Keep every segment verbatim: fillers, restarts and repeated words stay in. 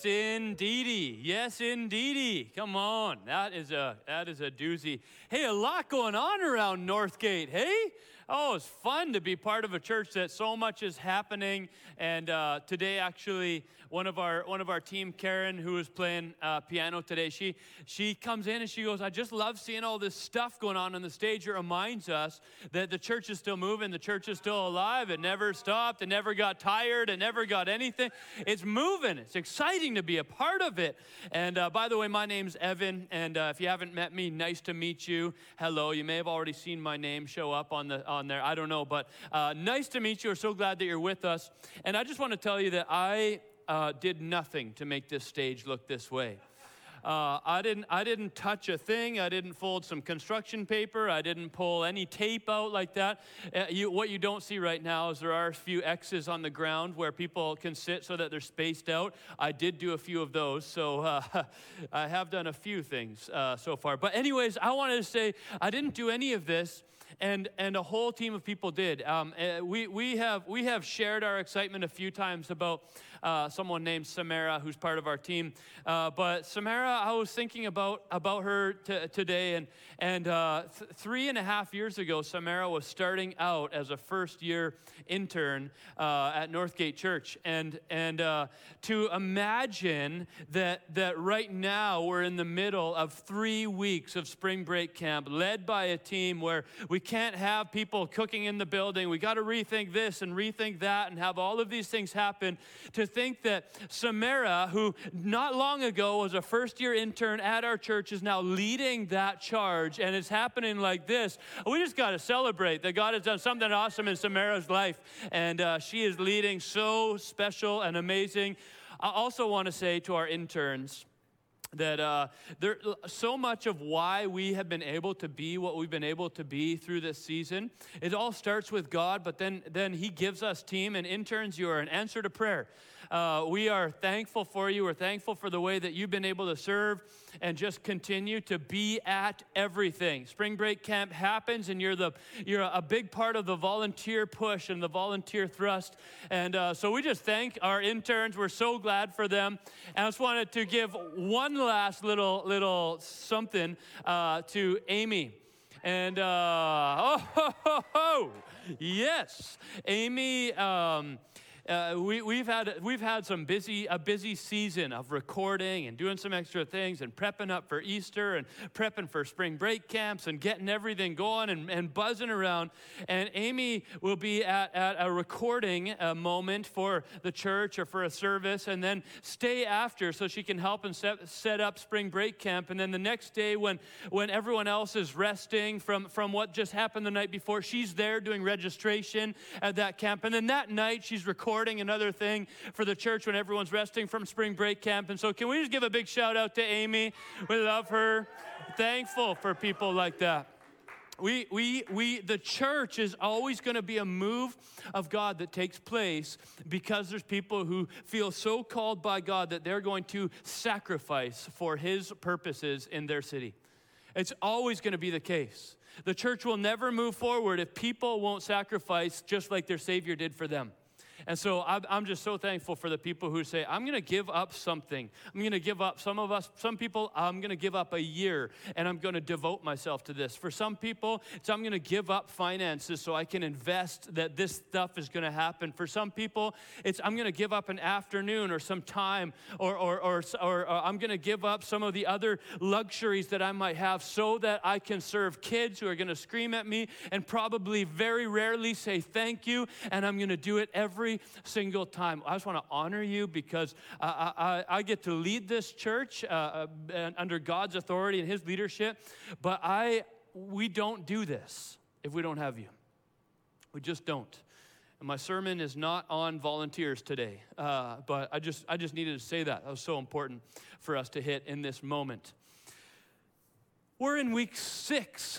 Yes, indeedy. Yes, indeedy. Come on, that is a that is a doozy. Hey, a lot going on around Northgate. Hey, oh, it's fun to be part of a church that so much is happening. And uh, today, actually, one of our one of our team, Karen, who is playing uh, piano today, she she comes in and she goes, "I just love seeing all this stuff going on on the stage. It reminds us that the church is still moving, the church is still alive. It never stopped. It never got tired. It never got anything. It's moving. It's exciting to be a part of it." And uh, by the way, my name's Evan, and uh, if you haven't met me, nice to meet you. Hello. You may have already seen my name show up on the on there. I don't know, but uh, nice to meet you. We're so glad that you're with us. And I just want to tell you that I uh, did nothing to make this stage look this way. Uh, I didn't. I didn't touch a thing. I didn't fold some construction paper. I didn't pull any tape out like that. Uh, you, what you don't see right now is there are a few X's on the ground where people can sit so that they're spaced out. I did do a few of those, so uh, I have done a few things uh, so far. But anyways, I wanted to say I didn't do any of this. And and a whole team of people did. Um, uh, we we have we have shared our excitement a few times about uh, someone named Samara, who's part of our team. Uh, but Samara, I was thinking about about her t- today, and and uh, th- three and a half years ago, Samara was starting out as a first year intern uh, at Northgate Church, and and uh, to imagine that that right now we're in the middle of three weeks of spring break camp, led by a team where we can't have people cooking in the building. We got to rethink this and rethink that and have all of these things happen. To think that Samara, who not long ago was a first-year intern at our church, is now leading that charge, and it's happening like this. We just got to celebrate that God has done something awesome in Samara's life, and uh, she is leading so special and amazing. I also want to say to our interns, that uh, there, so much of why we have been able to be what we've been able to be through this season, it all starts with God, but then, then He gives us team, and interns, you are an answer to prayer. Uh, we are thankful for you. We're thankful for the way that you've been able to serve and just continue to be at everything. Spring break camp happens, and you're the you're a big part of the volunteer push and the volunteer thrust. And uh, so we just thank our interns. We're so glad for them. And I just wanted to give one last little little something uh, to Amy. And uh, oh, ho, ho, ho. Yes, Amy. Um, Uh, we, we've had we've had some busy a busy season of recording and doing some extra things and prepping up for Easter and prepping for spring break camps and getting everything going and, and buzzing around. And Amy will be at, at a recording uh, moment for the church or for a service, and then stay after so she can help and set, set up spring break camp. And then the next day, when when everyone else is resting from from what just happened the night before, she's there doing registration at that camp. And then that night, she's recording another thing for the church when everyone's resting from spring break camp. And so can we just give a big shout out to Amy? We love her. Thankful for people like that. We, we, we, the church is always going to be a move of God that takes place because there's people who feel so called by God that they're going to sacrifice for His purposes in their city. It's always going to be the case. The church will never move forward if people won't sacrifice just like their Savior did for them. And so I'm just so thankful for the people who say, I'm going to give up something. I'm going to give up, some of us, some people, I'm going to give up a year, and I'm going to devote myself to this. For some people, it's I'm going to give up finances so I can invest that this stuff is going to happen. For some people, it's I'm going to give up an afternoon or some time, or, or, or, or, or I'm going to give up some of the other luxuries that I might have so that I can serve kids who are going to scream at me and probably very rarely say thank you, and I'm going to do it every single time. I just want to honor you because I, I, I get to lead this church uh, under God's authority and His leadership, but I we don't do this if we don't have you. We just don't. And my sermon is not on volunteers today, uh, but I just I just needed to say that. That was so important for us to hit in this moment. We're in week six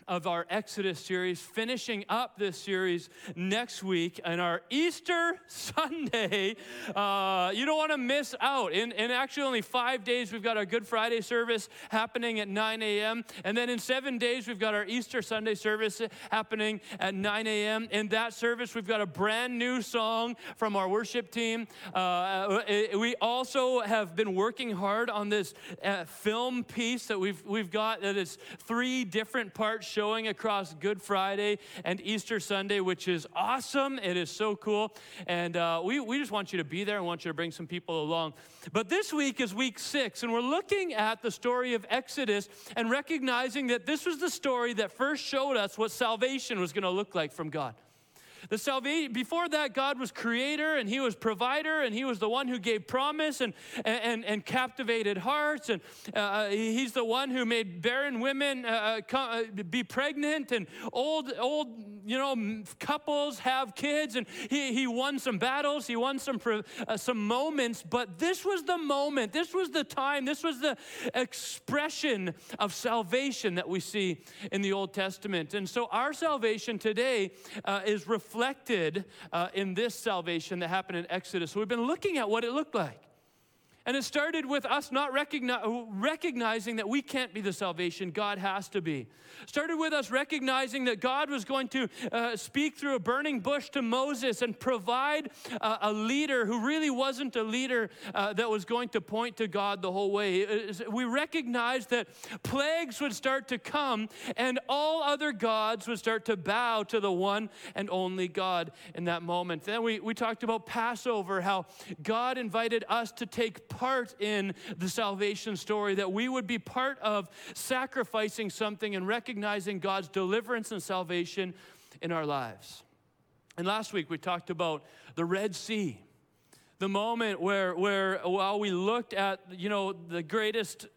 of our Exodus series, finishing up this series next week and our Easter Sunday. Uh, you don't want to miss out. In, in actually only five days, we've got our Good Friday service happening at nine a.m. And then in seven days, we've got our Easter Sunday service happening at nine a.m. In that service, we've got a brand new song from our worship team. Uh, we also have been working hard on this uh, film piece that we've, we've got that is three different parts showing across Good Friday and Easter Sunday, which is awesome. It is so cool. And uh, we, we just want you to be there and want you to bring some people along. But this week is week six, and we're looking at the story of Exodus and recognizing that this was the story that first showed us what salvation was going to look like from God. The salvation, before that, God was creator and he was provider and he was the one who gave promise and, and, and captivated hearts. And uh, he's the one who made barren women uh, come, uh, be pregnant and old, old, you know, couples have kids. And he, he won some battles. He won some, uh, some moments. But this was the moment. This was the time. This was the expression of salvation that we see in the Old Testament. And so our salvation today uh, is reflected reflected uh, in this salvation that happened in Exodus. So we've been looking at what it looked like. And it started with us not recogni- recognizing that we can't be the salvation, God has to be. Started with us recognizing that God was going to uh, speak through a burning bush to Moses and provide uh, a leader who really wasn't a leader uh, that was going to point to God the whole way. We recognized that plagues would start to come and all other gods would start to bow to the one and only God in that moment. Then we, we talked about Passover, how God invited us to take part in the salvation story, that we would be part of sacrificing something and recognizing God's deliverance and salvation in our lives. And last week we talked about the Red Sea, the moment where, where while we looked at, you know, the greatest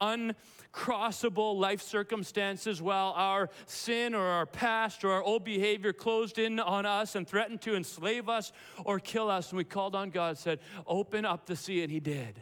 uncrossable life circumstances, while our sin or our past or our old behavior closed in on us and threatened to enslave us or kill us, and we called on God and said, open up the sea, and he did.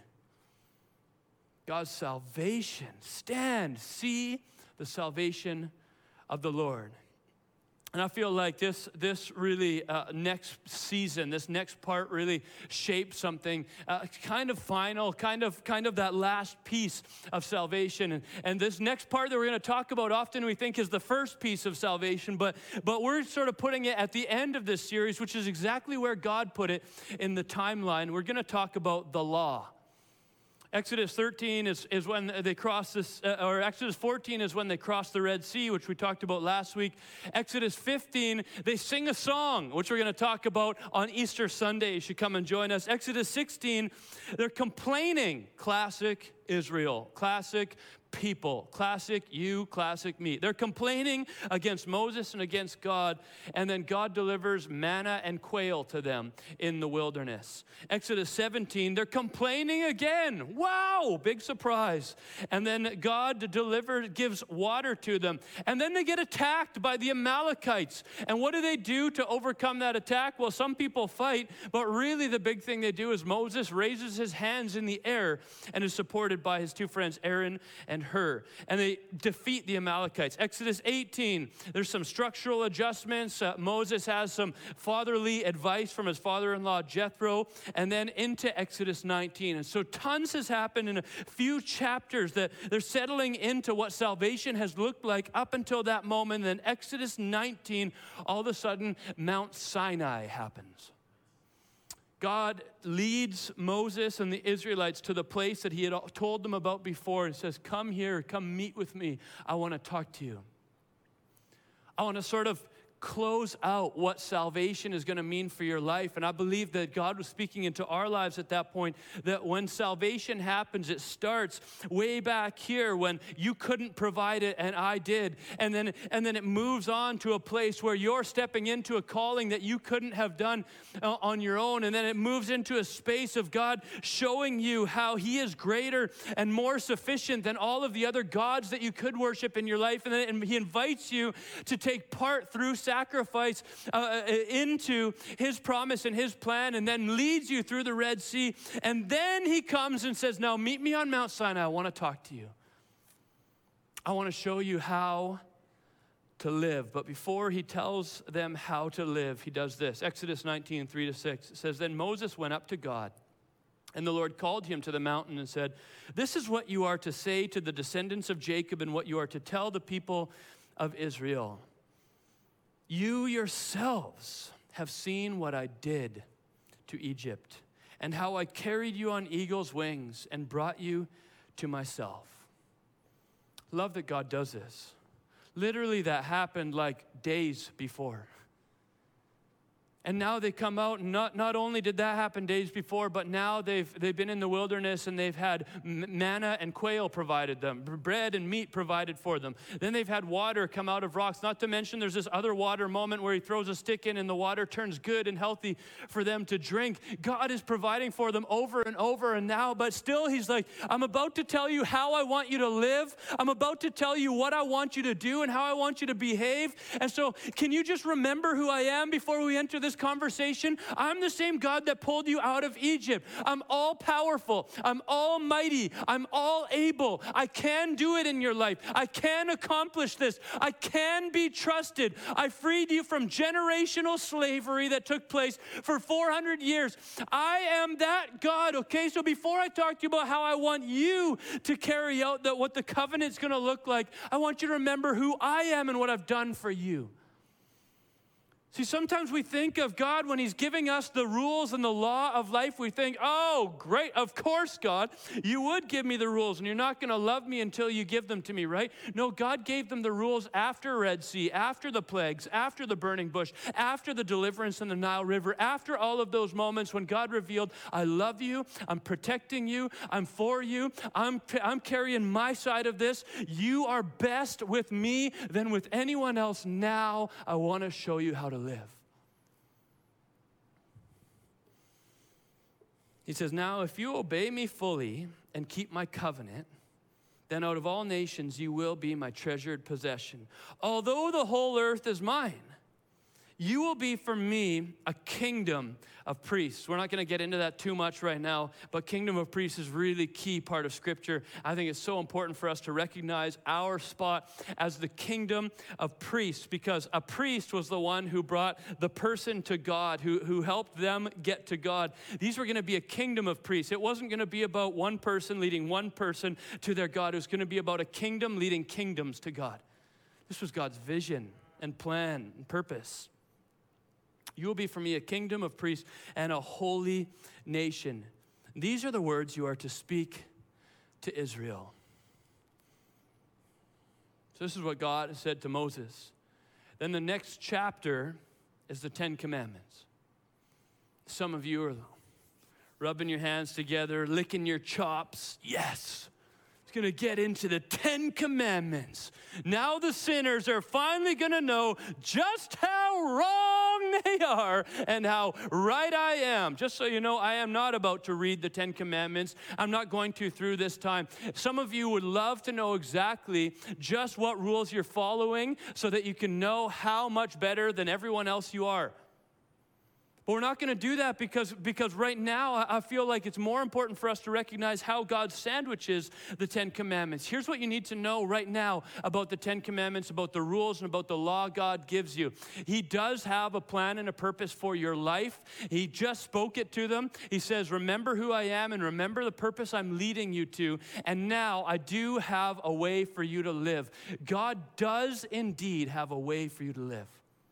God's salvation. Stand, see the salvation of the Lord. And I feel like this this really uh, next season, this next part really shaped something uh, kind of final, kind of kind of that last piece of salvation. And, and this next part that we're going to talk about often we think is the first piece of salvation, but, but we're sort of putting it at the end of this series, which is exactly where God put it in the timeline. We're going to talk about the law. Exodus thirteen is, is when they cross this, uh, or Exodus fourteen is when they cross the Red Sea, which we talked about last week. Exodus fifteen, they sing a song, which we're going to talk about on Easter Sunday. You should come and join us. Exodus sixteen, they're complaining. Classic Israel, classic people, classic you, classic me. They're complaining against Moses and against God, and then God delivers manna and quail to them in the wilderness. Exodus seventeen, they're complaining again. Wow, big surprise. And then God delivers, gives water to them. And then they get attacked by the Amalekites. And what do they do to overcome that attack? Well, some people fight, but really the big thing they do is Moses raises his hands in the air and is supported by his two friends, Aaron and Hur, and they defeat the Amalekites. Exodus eighteen, there's some structural adjustments. Uh, Moses has some fatherly advice from his father-in-law, Jethro, and then into Exodus nineteen. And so tons has happened in a few chapters that they're settling into what salvation has looked like up until that moment. And then Exodus nineteen, all of a sudden, Mount Sinai happens. God leads Moses and the Israelites to the place that he had told them about before and says, come here, come meet with me. I want to talk to you. I want to sort of close out what salvation is going to mean for your life. And I believe that God was speaking into our lives at that point, that when salvation happens, it starts way back here when you couldn't provide it and I did. And then, and then it moves on to a place where you're stepping into a calling that you couldn't have done uh, on your own. And then it moves into a space of God showing you how he is greater and more sufficient than all of the other gods that you could worship in your life. And then and he invites you to take part through sacrifice uh, into his promise and his plan, and then leads you through the Red Sea. And then he comes and says, now meet me on Mount Sinai. I want to talk to you. I want to show you how to live. But before he tells them how to live, he does this. Exodus nineteen, three to six, it says, Then Moses went up to God, and the Lord called him to the mountain and said, This is what you are to say to the descendants of Jacob and what you are to tell the people of Israel. You yourselves have seen what I did to Egypt and how I carried you on eagle's wings and brought you to myself. Love that God does this. Literally, that happened like days before. And now they come out, and not, not only did that happen days before, but now they've, they've been in the wilderness and they've had manna and quail provided them, bread and meat provided for them. Then they've had water come out of rocks, not to mention there's this other water moment where he throws a stick in and the water turns good and healthy for them to drink. God is providing for them over and over and now, but still he's like, I'm about to tell you how I want you to live. I'm about to tell you what I want you to do and how I want you to behave. And so can you just remember who I am before we enter this conversation? I'm the same God that pulled you out of Egypt. I'm all powerful. I'm almighty. I'm all able. I can do it in your life. I can accomplish this. I can be trusted. I freed you from generational slavery that took place for four hundred years. I am that God, okay? So before I talk to you about how I want you to carry out that what the covenant's going to look like, I want you to remember who I am and what I've done for you. See, sometimes we think of God when he's giving us the rules and the law of life. We think, oh, great, of course, God, you would give me the rules and you're not going to love me until you give them to me, right? No, God gave them the rules after Red Sea, after the plagues, after the burning bush, after the deliverance in the Nile River, after all of those moments when God revealed, I love you, I'm protecting you, I'm for you, I'm, I'm carrying my side of this. You are best with me than with anyone else. Now I want to show you how to live. He says, now if you obey me fully and keep my covenant, then out of all nations you will be my treasured possession. Although the whole earth is mine, you will be for me a kingdom of priests. We're not going to get into that too much right now, but kingdom of priests is really key part of Scripture. I think it's so important for us to recognize our spot as the kingdom of priests, because a priest was the one who brought the person to God, who, who helped them get to God. These were going to be a kingdom of priests. It wasn't going to be about one person leading one person to their God. It was going to be about a kingdom leading kingdoms to God. This was God's vision and plan and purpose. You will be for me a kingdom of priests and a holy nation. These are the words you are to speak to Israel. So this is what God said to Moses. Then the next chapter is the Ten Commandments. Some of you are rubbing your hands together, licking your chops. Yes. Going to get into the Ten Commandments. Now the sinners are finally going to know just how wrong they are and how right I am. Just so you know, I am not about to read the Ten Commandments. I'm not going to through this time. Some of you would love to know exactly just what rules you're following so that you can know how much better than everyone else you are. But we're not going to do that because, because right now I feel like it's more important for us to recognize how God sandwiches the Ten Commandments. Here's what you need to know right now about the Ten Commandments, about the rules and about the law God gives you. He does have a plan and a purpose for your life. He just spoke it to them. He says, remember who I am and remember the purpose I'm leading you to. And now I do have a way for you to live. God does indeed have a way for you to live.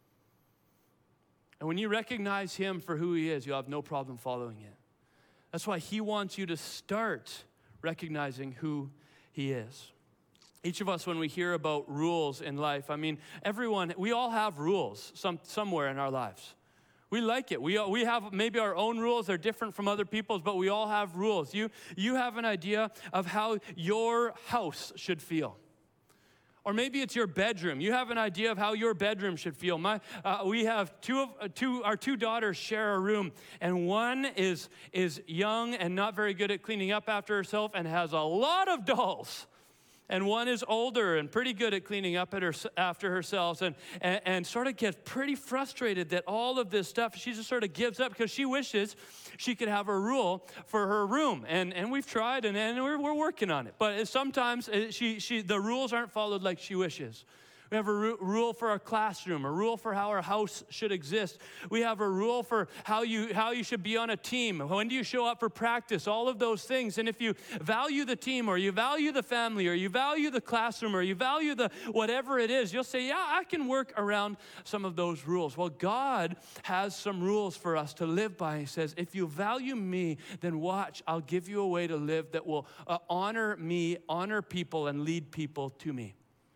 And when you recognize him for who he is, you'll have no problem following it. That's why he wants you to start recognizing who he is. Each of us, when we hear about rules in life, I mean, everyone, we all have rules some, somewhere in our lives. We like it. We, we have maybe our own rules. They're different from other people's, but we all have rules. You, you have an idea of how your house should feel. Or maybe it's your bedroom. You have an idea of how your bedroom should feel. My, uh, we have two of uh, two. Our two daughters share a room, and one is is young and not very good at cleaning up after herself, and has a lot of dolls. And one is older and pretty good at cleaning up at her, after herself, and, and, and sort of gets pretty frustrated that all of this stuff, she just sort of gives up because she wishes she could have a rule for her room. And, and we've tried, and, and we're, we're working on it. But sometimes she, she, the rules aren't followed like she wishes. We have a ru- rule for our classroom, a rule for how our house should exist. We have a rule for how you how you should be on a team. When do you show up for practice? All of those things. And if you value the team, or you value the family, or you value the classroom, or you value the whatever it is, you'll say, yeah, I can work around some of those rules. Well, God has some rules for us to live by. He says, if you value me, then watch, I'll give you a way to live that will uh, honor me, honor people, and lead people to me.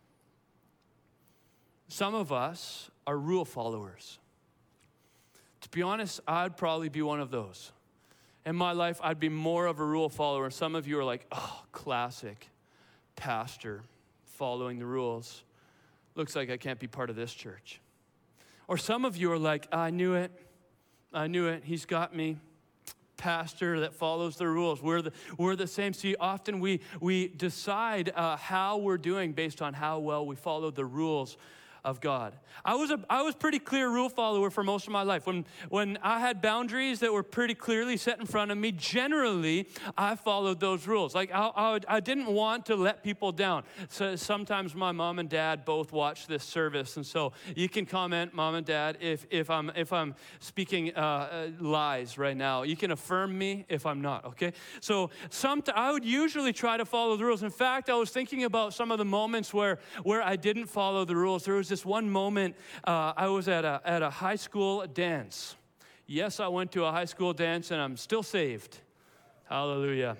Some of us are rule followers. To be honest, I'd probably be one of those. In my life, I'd be more of a rule follower. Some of you are like, oh, classic pastor following the rules. Looks like I can't be part of this church. Or some of you are like, I knew it. I knew it. He's got me. Pastor that follows the rules. We're the, we're the same. See, often we, we decide uh, how we're doing based on how well we follow the rules of God. I was a I was pretty clear rule follower for most of my life. When when I had boundaries that were pretty clearly set in front of me, generally I followed those rules. Like I I, would, I didn't want to let people down. So sometimes my mom and dad both watch this service, and so you can comment, mom and dad, if if I'm if I'm speaking uh, lies right now. You can affirm me if I'm not. Okay. So some I would usually try to follow the rules. In fact, I was thinking about some of the moments where where I didn't follow the rules. There was this one moment, uh, I was at a, at a high school dance. Yes, I went to a high school dance, and I'm still saved. Hallelujah.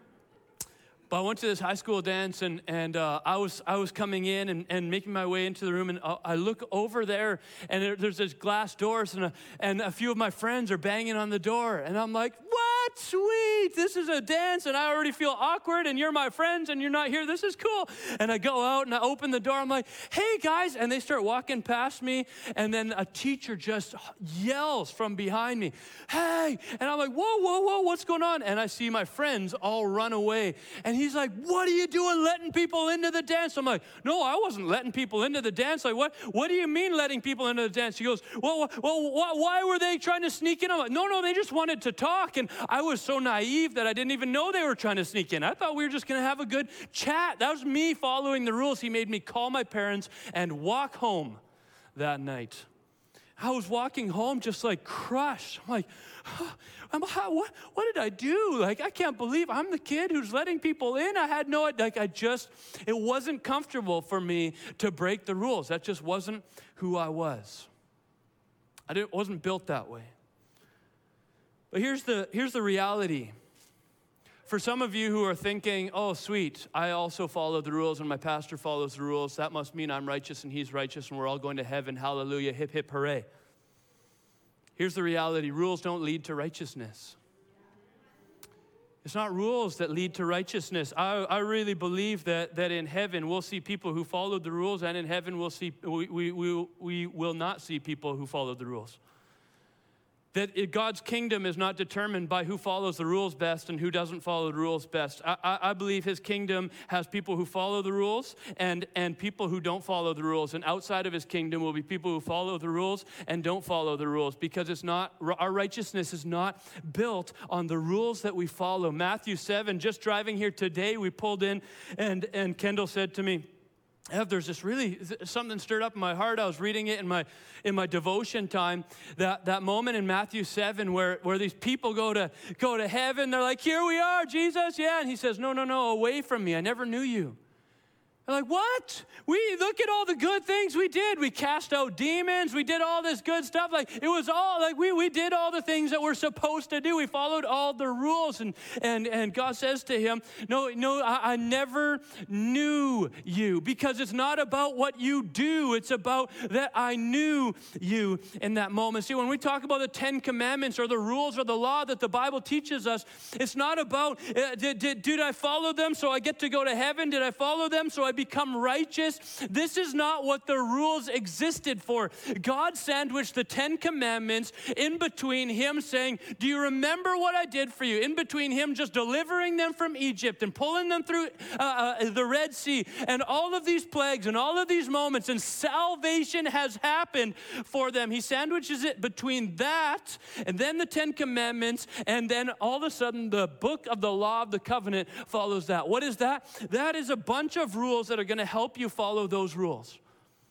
But I went to this high school dance, and, and uh, I was I was coming in and, and making my way into the room, and I look over there, and there, there's this glass doors, and a, and a few of my friends are banging on the door, and I'm like, what? Sweet, this is a dance, and I already feel awkward, and you're my friends, and you're not here. This is cool. And I go out, and I open the door. I'm like, hey, guys, and they start walking past me, and then a teacher just yells from behind me, hey, and I'm like, whoa, whoa, whoa, what's going on? And I see my friends all run away, and he's like, what are you doing letting people into the dance? I'm like, no, I wasn't letting people into the dance. Like, what What do you mean letting people into the dance? He goes, well, well why were they trying to sneak in? I'm like, no, no, they just wanted to talk. And I was so naive that I didn't even know they were trying to sneak in. I thought we were just going to have a good chat. That was me following the rules. He made me call my parents and walk home that night. I was walking home just like crushed. I'm like, I'm, what, what did I do? Like, I can't believe I'm the kid who's letting people in. I had no, like, I just, it wasn't comfortable for me to break the rules. That just wasn't who I was. I didn't, wasn't built that way. But here's the, here's the reality. For some of you who are thinking, oh, sweet, I also follow the rules and my pastor follows the rules. That must mean I'm righteous and he's righteous and we're all going to heaven. Hallelujah, hip, hip, hooray. Here's the reality. Rules don't lead to righteousness. It's not rules that lead to righteousness. I, I really believe that, that in heaven we'll see people who followed the rules, and in heaven we'll see, we, we, we, we will not see people who followed the rules. That God's kingdom is not determined by who follows the rules best and who doesn't follow the rules best. I, I, I believe his kingdom has people who follow the rules and, and people who don't follow the rules. And outside of his kingdom will be people who follow the rules and don't follow the rules, because it's not, our righteousness is not built on the rules that we follow. Matthew seven, just driving here today, we pulled in, and, and Kendall said to me, Ev, there's this really, something stirred up in my heart. I was reading it in my in my devotion time, that, that moment in Matthew seven where, where these people go to go to heaven. They're like, here we are, Jesus, yeah. And he says, no, no, no, away from me. I never knew you. They're like, what? We look at all the good things we did. We cast out demons. We did all this good stuff. Like, it was all, like, we, we did all the things that we're supposed to do. We followed all the rules. And and, and God says to him, no, no, I, I never knew you. Because it's not about what you do. It's about that I knew you in that moment. See, when we talk about the Ten Commandments or the rules or the law that the Bible teaches us, it's not about, uh, did, did, did I follow them so I get to go to heaven? Did I follow them so I become righteous? This is not what the rules existed for. God sandwiched the Ten Commandments in between him saying, do you remember what I did for you? In between him just delivering them from Egypt and pulling them through uh, uh, the Red Sea and all of these plagues and all of these moments, and salvation has happened for them. He sandwiches it between that and then the Ten Commandments, and then all of a sudden the book of the law of the covenant follows that. What is that? That is a bunch of rules that are going to help you follow those rules.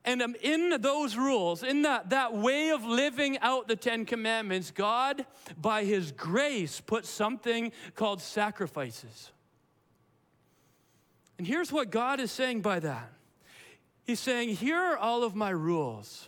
And um, in those rules, in that, that way of living out the Ten Commandments, God, by his grace, put something called sacrifices. And here's what God is saying by that. He's saying, here are all of my rules.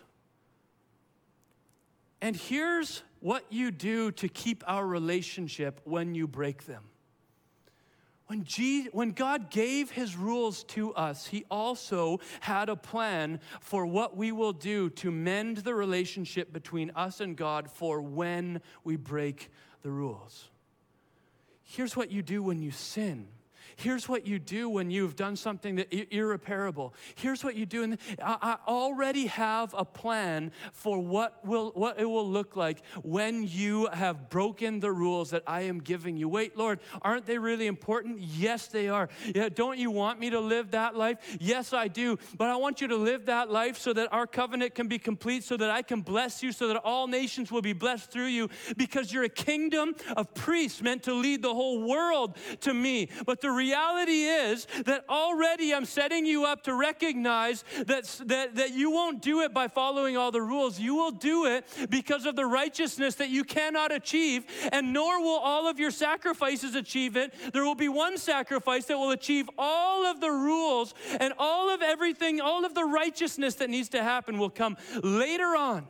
And here's what you do to keep our relationship when you break them. When, Jesus, when God gave his rules to us, he also had a plan for what we will do to mend the relationship between us and God for when we break the rules. Here's what you do when you sin. Here's what you do when you've done something that is irreparable. Here's what you do. And I already have a plan for what will what it will look like when you have broken the rules that I am giving you. Wait, Lord, aren't they really important? Yes, they are. Yeah, don't you want me to live that life? Yes, I do. But I want you to live that life so that our covenant can be complete, so that I can bless you, so that all nations will be blessed through you, because you're a kingdom of priests meant to lead the whole world to me. But the reality is that already I'm setting you up to recognize that, that, that you won't do it by following all the rules. You will do it because of the righteousness that you cannot achieve, and nor will all of your sacrifices achieve it. There will be one sacrifice that will achieve all of the rules, and all of everything, all of the righteousness that needs to happen will come later on.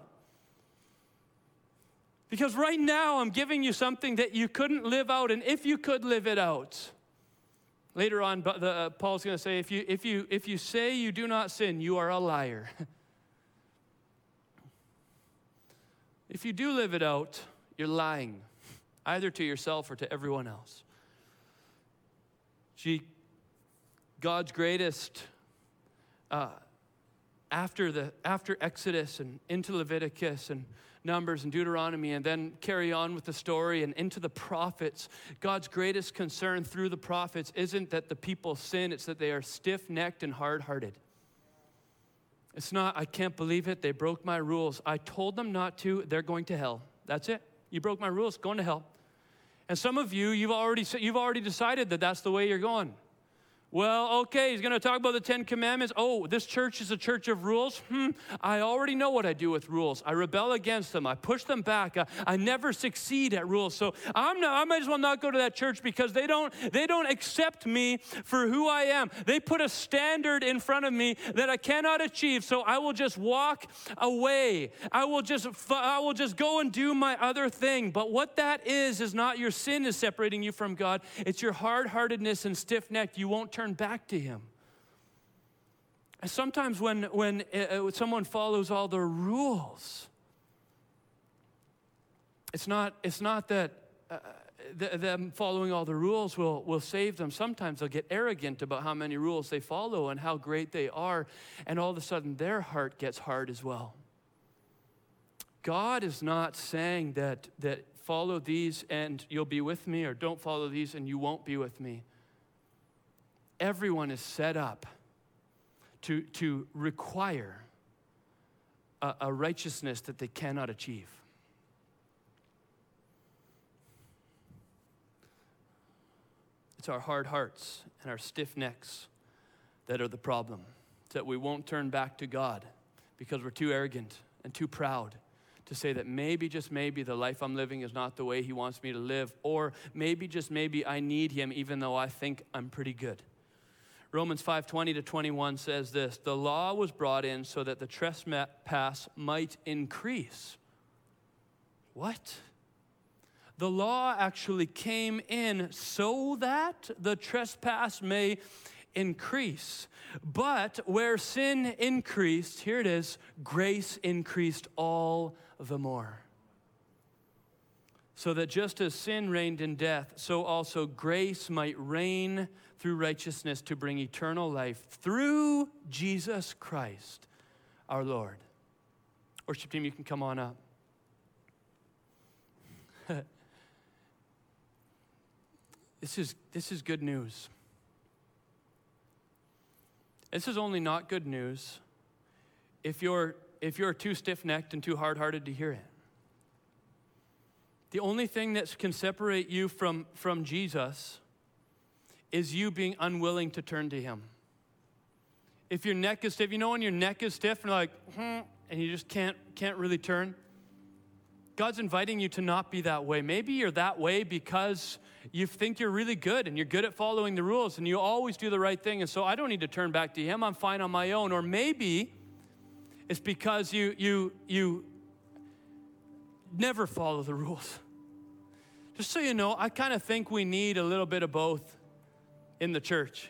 Because right now I'm giving you something that you couldn't live out, and if you could live it out, later on, the, uh, Paul's going to say, if you, if, you, if you say you do not sin, you are a liar. If you do live it out, you're lying, either to yourself or to everyone else. Gee, God's greatest, uh, after, the, after Exodus and into Leviticus and Numbers and Deuteronomy, and then carry on with the story and into the prophets, God's greatest concern through the prophets isn't that the people sin, it's that they are stiff-necked and hard-hearted. It's not, I can't believe it, they broke my rules. I told them not to, they're going to hell. That's it. You broke my rules, going to hell. And some of you, you've already, you've already decided that that's the way you're going. Well, okay, he's going to talk about the Ten Commandments. Oh, this church is a church of rules? Hmm, I already know what I do with rules. I rebel against them. I push them back. I, I never succeed at rules. So I'm not, I might as well not go to that church because they don't, they don't accept me for who I am. They put a standard in front of me that I cannot achieve, so I will just walk away. I will just, I will just go and do my other thing. But what that is, is not your sin is separating you from God. It's your hard-heartedness and stiff-necked. You won't turn back to him. And sometimes when when uh, someone follows all the rules, it's not it's not that uh, th- them following all the rules will will save them. Sometimes they'll get arrogant about how many rules they follow and how great they are, and all of a sudden their heart gets hard as well. God is not saying that that follow these and you'll be with me, or don't follow these and you won't be with me. Everyone is set up to, to require a, a righteousness that they cannot achieve. It's our hard hearts and our stiff necks that are the problem. It's that we won't turn back to God because we're too arrogant and too proud to say that maybe, just maybe, the life I'm living is not the way he wants me to live, or maybe, just maybe, I need him even though I think I'm pretty good. Romans five twenty to twenty-one says this: the law was brought in so that the trespass might increase. What? The law actually came in so that the trespass may increase. But where sin increased, here it is, grace increased all the more. So that just as sin reigned in death, so also grace might reign through righteousness to bring eternal life through Jesus Christ, our Lord. Worship team, you can come on up. This is, this is good news. This is only not good news if you're, if you're too stiff-necked and too hard-hearted to hear it. The only thing that can separate you from, from Jesus is you being unwilling to turn to him. If your neck is stiff, you know when your neck is stiff and you're like, hmm, and you just can't, can't really turn? God's inviting you to not be that way. Maybe you're that way because you think you're really good and you're good at following the rules and you always do the right thing, and so I don't need to turn back to him. I'm fine on my own. Or maybe it's because you you you never follow the rules. Just so you know, I kind of think we need a little bit of both in the church.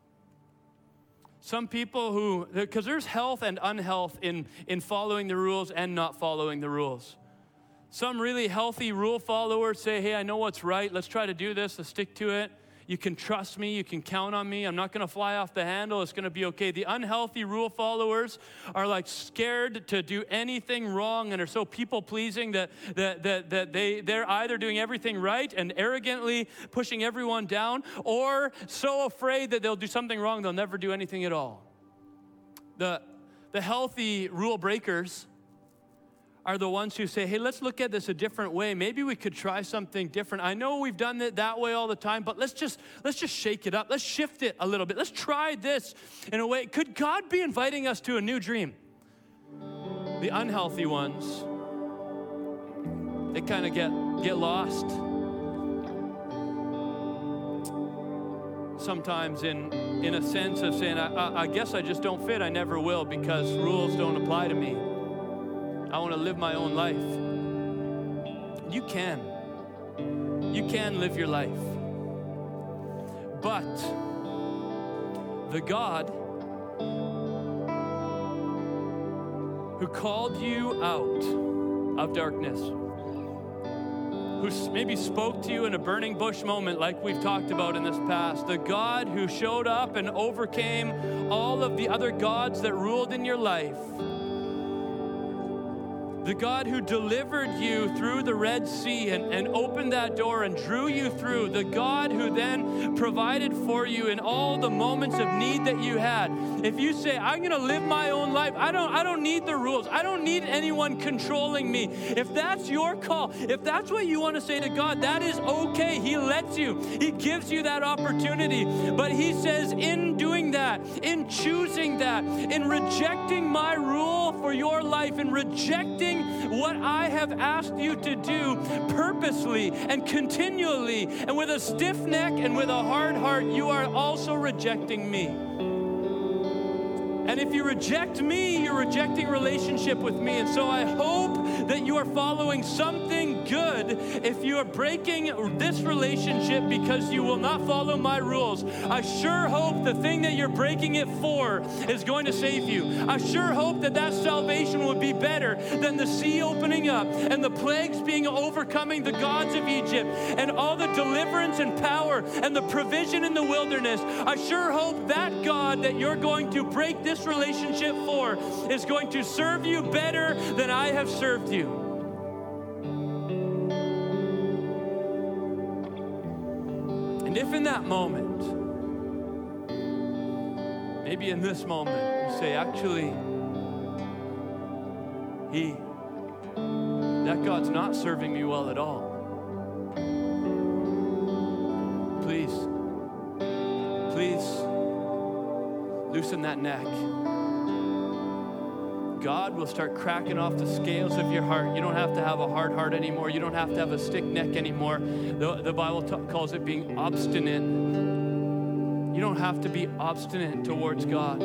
Some people who, because there's health and unhealth in, in following the rules and not following the rules. Some really healthy rule followers say, hey, I know what's right. Let's try to do this. Let's stick to it. You can trust me. You can count on me. I'm not going to fly off the handle. It's going to be okay. The unhealthy rule followers are like scared to do anything wrong and are so people-pleasing that, that, that, that they, they're either doing everything right and arrogantly pushing everyone down, or so afraid that they'll do something wrong, they'll never do anything at all. The, the healthy rule breakers are the ones who say, hey, let's look at this a different way. Maybe we could try something different. I know we've done it that way all the time, but let's just let's just shake it up. Let's shift it a little bit. Let's try this in a way. Could God be inviting us to a new dream? The unhealthy ones, they kind of get, get lost. Sometimes in, in a sense of saying, I, I, I guess I just don't fit. I never will because rules don't apply to me. I want to live my own life. You can. You can live your life. But the God who called you out of darkness, who maybe spoke to you in a burning bush moment like we've talked about in this past, the God who showed up and overcame all of the other gods that ruled in your life, the God who delivered you through the Red Sea and, and opened that door and drew you through, the God who then provided for you in all the moments of need that you had. If you say, I'm going to live my own life, I don't, I don't need the rules. I don't need anyone controlling me. If that's your call, if that's what you want to say to God, that is okay. He lets you. He gives you that opportunity. But he says, in doing that, in choosing that, in rejecting my rule for your life, in rejecting what I have asked you to do purposely and continually and with a stiff neck and with a hard heart, you are also rejecting me. And if you reject me, you're rejecting relationship with me. And so I hope that you are following something good if you are breaking this relationship because you will not follow my rules. I sure hope the thing that you're breaking it for is going to save you. I sure hope that that salvation would be better than the sea opening up and the plagues being overcoming the gods of Egypt and all the deliverance and power and the provision in the wilderness. I sure hope that God that you're going to break this relationship for is going to serve you better than I have served you. And if in that moment, maybe in this moment, you say, actually, he, that God's not serving me well at all. Please, please loosen that neck. God will start cracking off the scales of your heart. You don't have to have a hard heart anymore. You don't have to have a stiff neck anymore. The, the Bible t- calls it being obstinate. You don't have to be obstinate towards God.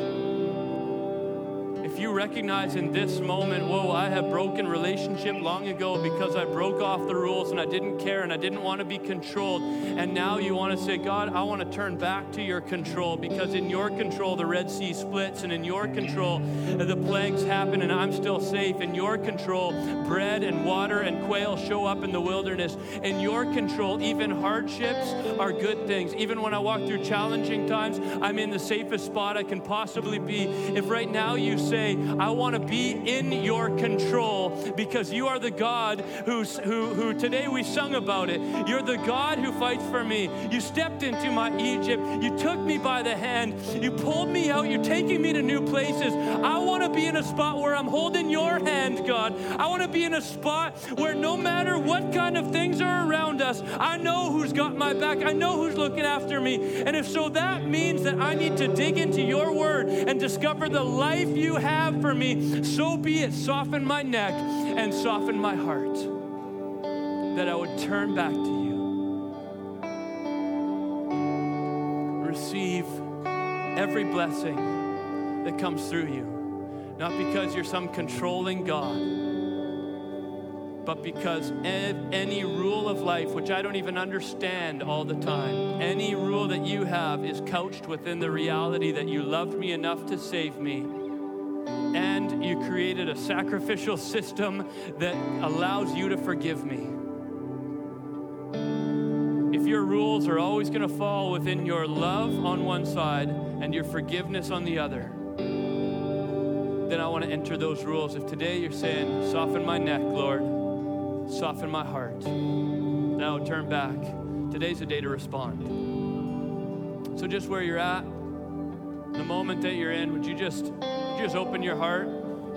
If you recognize in this moment, whoa, I have broken relationship long ago because I broke off the rules and I didn't care and I didn't want to be controlled. And now you want to say, God, I want to turn back to your control because in your control, the Red Sea splits, and in your control, the plagues happen and I'm still safe. In your control, bread and water and quail show up in the wilderness. In your control, even hardships are good things. Even when I walk through challenging times, I'm in the safest spot I can possibly be. If right now you say, today, I want to be in your control because you are the God who's, who, who today we sung about it. You're the God who fights for me. You stepped into my Egypt. You took me by the hand. You pulled me out. You're taking me to new places. I want to be in a spot where I'm holding your hand, God. I want to be in a spot where no matter what kind of things are around us, I know who's got my back. I know who's looking after me. And if so, that means that I need to dig into your word and discover the life you have for me. So be it. Soften my neck and soften my heart, that I would turn back to you. Receive every blessing that comes through you. Not because you're some controlling God, but because any rule of life, which I don't even understand all the time, any rule that you have is couched within the reality that you loved me enough to save me, and you created a sacrificial system that allows you to forgive me. If your rules are always going to fall within your love on one side and your forgiveness on the other, then I want to enter those rules. If today you're saying, soften my neck, Lord, soften my heart, now turn back. Today's the day to respond. So just where you're at, the moment that you're in, would you just, would you just open your heart?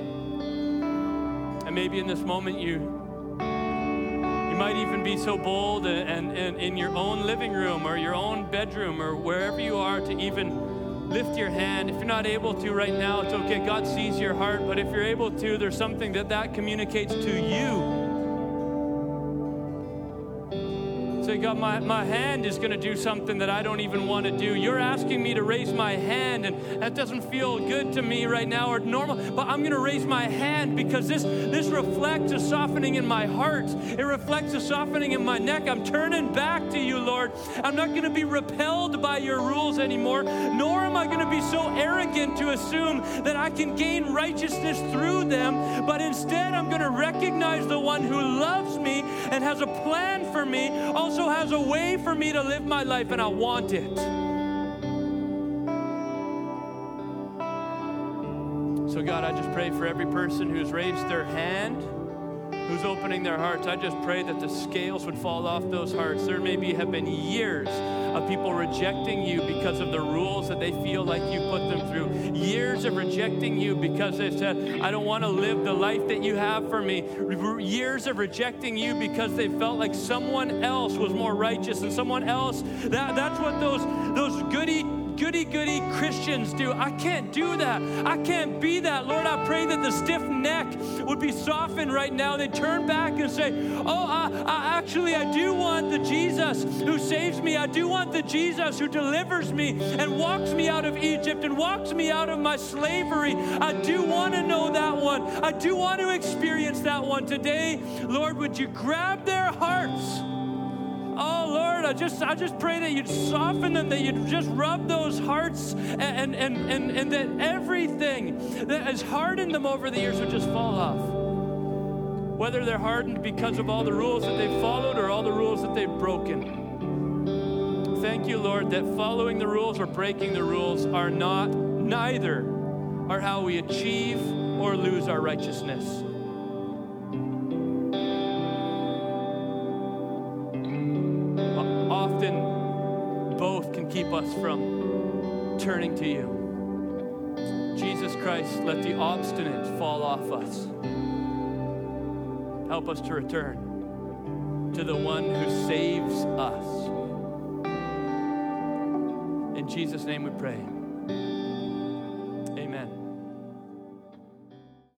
And maybe in this moment you, you might even be so bold and, and, and in your own living room or your own bedroom or wherever you are to even lift your hand. If you're not able to right now, it's okay. God sees your heart. But if you're able to, there's something that that communicates to you. Say, God, my, my hand is going to do something that I don't even want to do. You're asking me to raise my hand, and that doesn't feel good to me right now or normal, but I'm going to raise my hand because this, this reflects a softening in my heart. It reflects a softening in my neck. I'm turning back to you, Lord. I'm not going to be repelled by your rules anymore, nor am I going to be so arrogant to assume that I can gain righteousness through them, but instead I'm going to recognize the one who loves me and has a plan for me, also has a way for me to live my life, and I want it. So God, I just pray for every person who's raised their hand, who's opening their hearts. I just pray that the scales would fall off those hearts. There maybe have been years of people rejecting you because of the rules that they feel like you put them through. Years of rejecting you because they said, I don't want to live the life that you have for me. Years of rejecting you because they felt like someone else was more righteous and someone else. That, that's what those, those goody goody goody Christians do. I can't do that. I can't be that. Lord, I pray that the stiff neck would be softened right now. They turn back and say, oh, I, I actually, I do want the Jesus who saves me. I do want the Jesus who delivers me and walks me out of Egypt and walks me out of my slavery. I do want to know that one. I do want to experience that one today. Lord, would you grab their hearts? Oh, Lord, I just I just pray that you'd soften them, that you'd just rub those hearts, and, and, and, and that everything that has hardened them over the years would just fall off. Whether they're hardened because of all the rules that they've followed or all the rules that they've broken. Thank you, Lord, that following the rules or breaking the rules are not, neither are how we achieve or lose our righteousness. Both can keep us from turning to you. Jesus Christ, let the obstinate fall off us. Help us to return to the one who saves us. In Jesus' name we pray.